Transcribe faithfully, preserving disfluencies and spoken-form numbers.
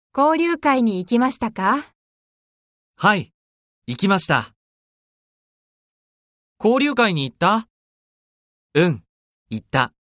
交流会に行きましたか？ はい、行きました。交流会に行った？うん、行った。